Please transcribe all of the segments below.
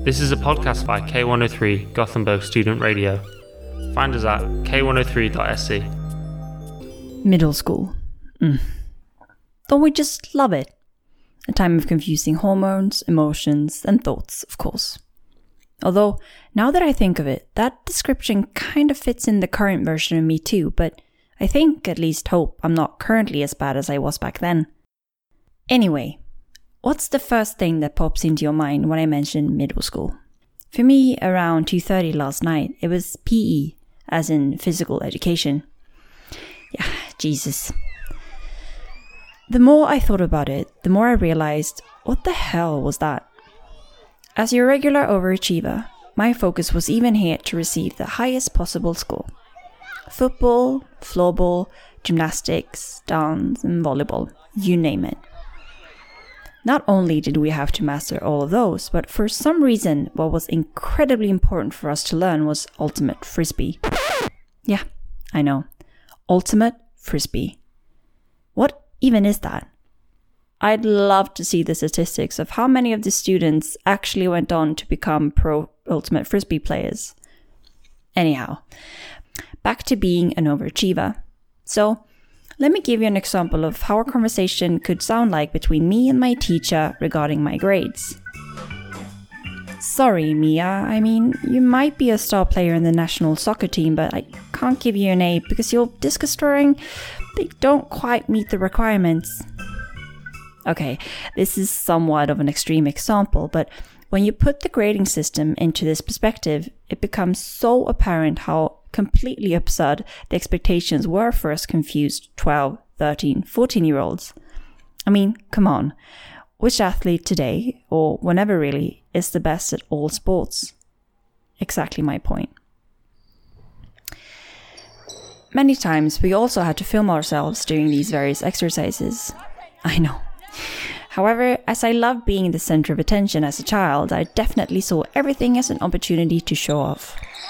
This is a podcast by K103 Gothenburg Student Radio. Find us at k103.se. Middle school. Don't we just love it? A time of confusing hormones, emotions, and thoughts, of course. Although, now that I think of it, that description kind of fits in the current version of me too, but I think, at least hope, I'm not currently as bad as I was back then. Anyway, what's the first thing that pops into your mind when I mention middle school? For me, around 2:30 last night, it was PE, as in physical education. Yeah, Jesus. The more I thought about it, the more I realized, what the hell was that? As your regular overachiever, my focus was even here to receive the highest possible score. Football, floorball, gymnastics, dance, and volleyball, you name it. Not only did we have to master all of those, but for some reason, what was incredibly important for us to learn was ultimate frisbee. Yeah, I know. Ultimate frisbee. What even is that? I'd love to see the statistics of how many of the students actually went on to become pro ultimate frisbee players. Anyhow, back to being an overachiever. So, let me give you an example of how a conversation could sound like between me and my teacher regarding my grades. Sorry, Mia, I mean, you might be a star player in the national soccer team, but I can't give you an A because your discus throwing, they don't quite meet the requirements. Okay, this is somewhat of an extreme example, but when you put the grading system into this perspective, it becomes so apparent how completely absurd the expectations were for us confused 12, 13, 14-year-olds. I mean, come on. Which athlete today, or whenever really, is the best at all sports? Exactly my point. Many times we also had to film ourselves doing these various exercises. I know. However, as I loved being the center of attention as a child, I definitely saw everything as an opportunity to show off.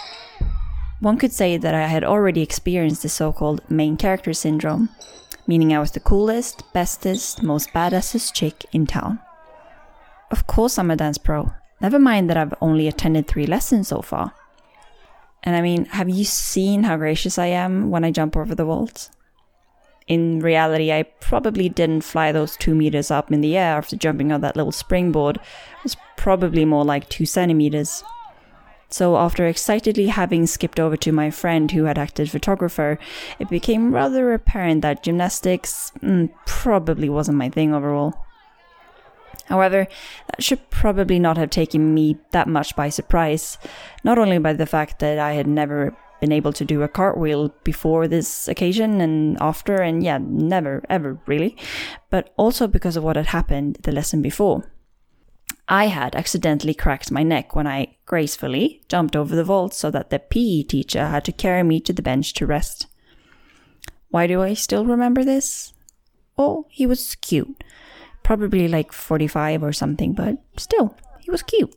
One could say that I had already experienced the so-called main character syndrome, meaning I was the coolest, bestest, most badassest chick in town. Of course I'm a dance pro, never mind that I've only attended 3 lessons so far. And I mean, have you seen how gracious I am when I jump over the vault? In reality, I probably didn't fly those 2 meters up in the air after jumping on that little springboard. It was probably more like 2 centimeters. So after excitedly having skipped over to my friend who had acted photographer, it became rather apparent that gymnastics probably wasn't my thing overall. However, that should probably not have taken me that much by surprise, not only by the fact that I had never been able to do a cartwheel before this occasion and after, and yeah, never ever really, but also because of what had happened the lesson before. I had accidentally cracked my neck when I gracefully jumped over the vault so that the PE teacher had to carry me to the bench to rest. Why do I still remember this? Oh, he was cute. Probably like 45 or something, but still, he was cute.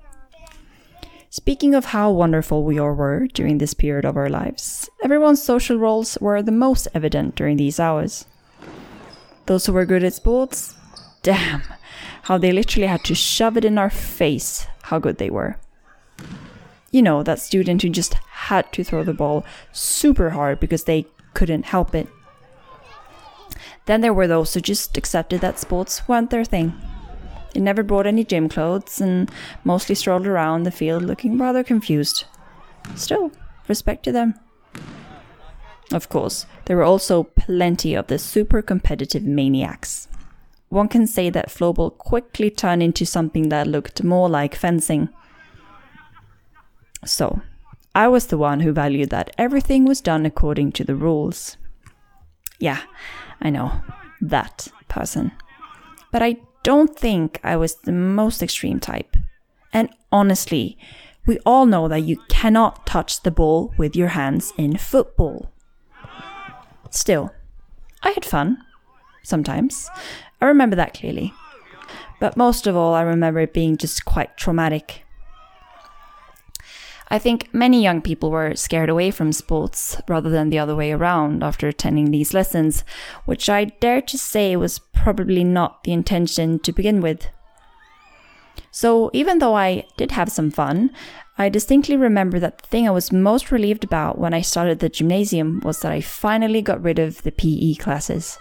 Speaking of how wonderful we all were during this period of our lives, everyone's social roles were the most evident during these hours. Those who were good at sports, damn, how they literally had to shove it in our face how good they were. You know, that student who just had to throw the ball super hard because they couldn't help it. Then there were those who just accepted that sports weren't their thing. They never brought any gym clothes and mostly strolled around the field looking rather confused. Still, respect to them. Of course, there were also plenty of the super competitive maniacs. One can say that floorball quickly turned into something that looked more like fencing. So, I was the one who valued that everything was done according to the rules. Yeah, I know, that person. But I don't think I was the most extreme type. And honestly, we all know that you cannot touch the ball with your hands in football. Still, I had fun. Sometimes. I remember that clearly. But most of all, I remember it being just quite traumatic. I think many young people were scared away from sports rather than the other way around after attending these lessons, which I dare to say was probably not the intention to begin with. So even though I did have some fun, I distinctly remember that the thing I was most relieved about when I started the gymnasium was that I finally got rid of the PE classes.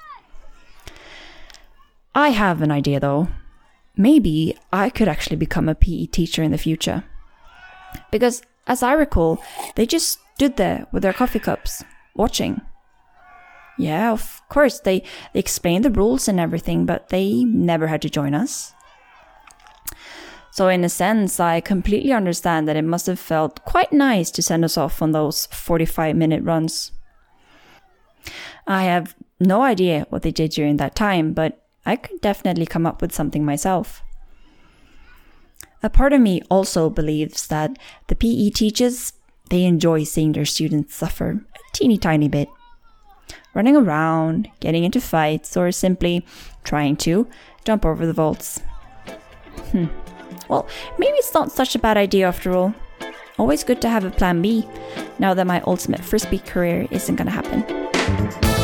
I have an idea though. Maybe I could actually become a PE teacher in the future. Because as I recall, they just stood there with their coffee cups, watching. Yeah, of course, they explained the rules and everything, but they never had to join us. So in a sense, I completely understand that it must have felt quite nice to send us off on those 45-minute runs. I have no idea what they did during that time, but I could definitely come up with something myself. A part of me also believes that the PE teachers, they enjoy seeing their students suffer a teeny tiny bit. Running around, getting into fights, or simply trying to jump over the vaults. Well, maybe it's not such a bad idea after all. Always good to have a plan B, now that my ultimate frisbee career isn't gonna happen.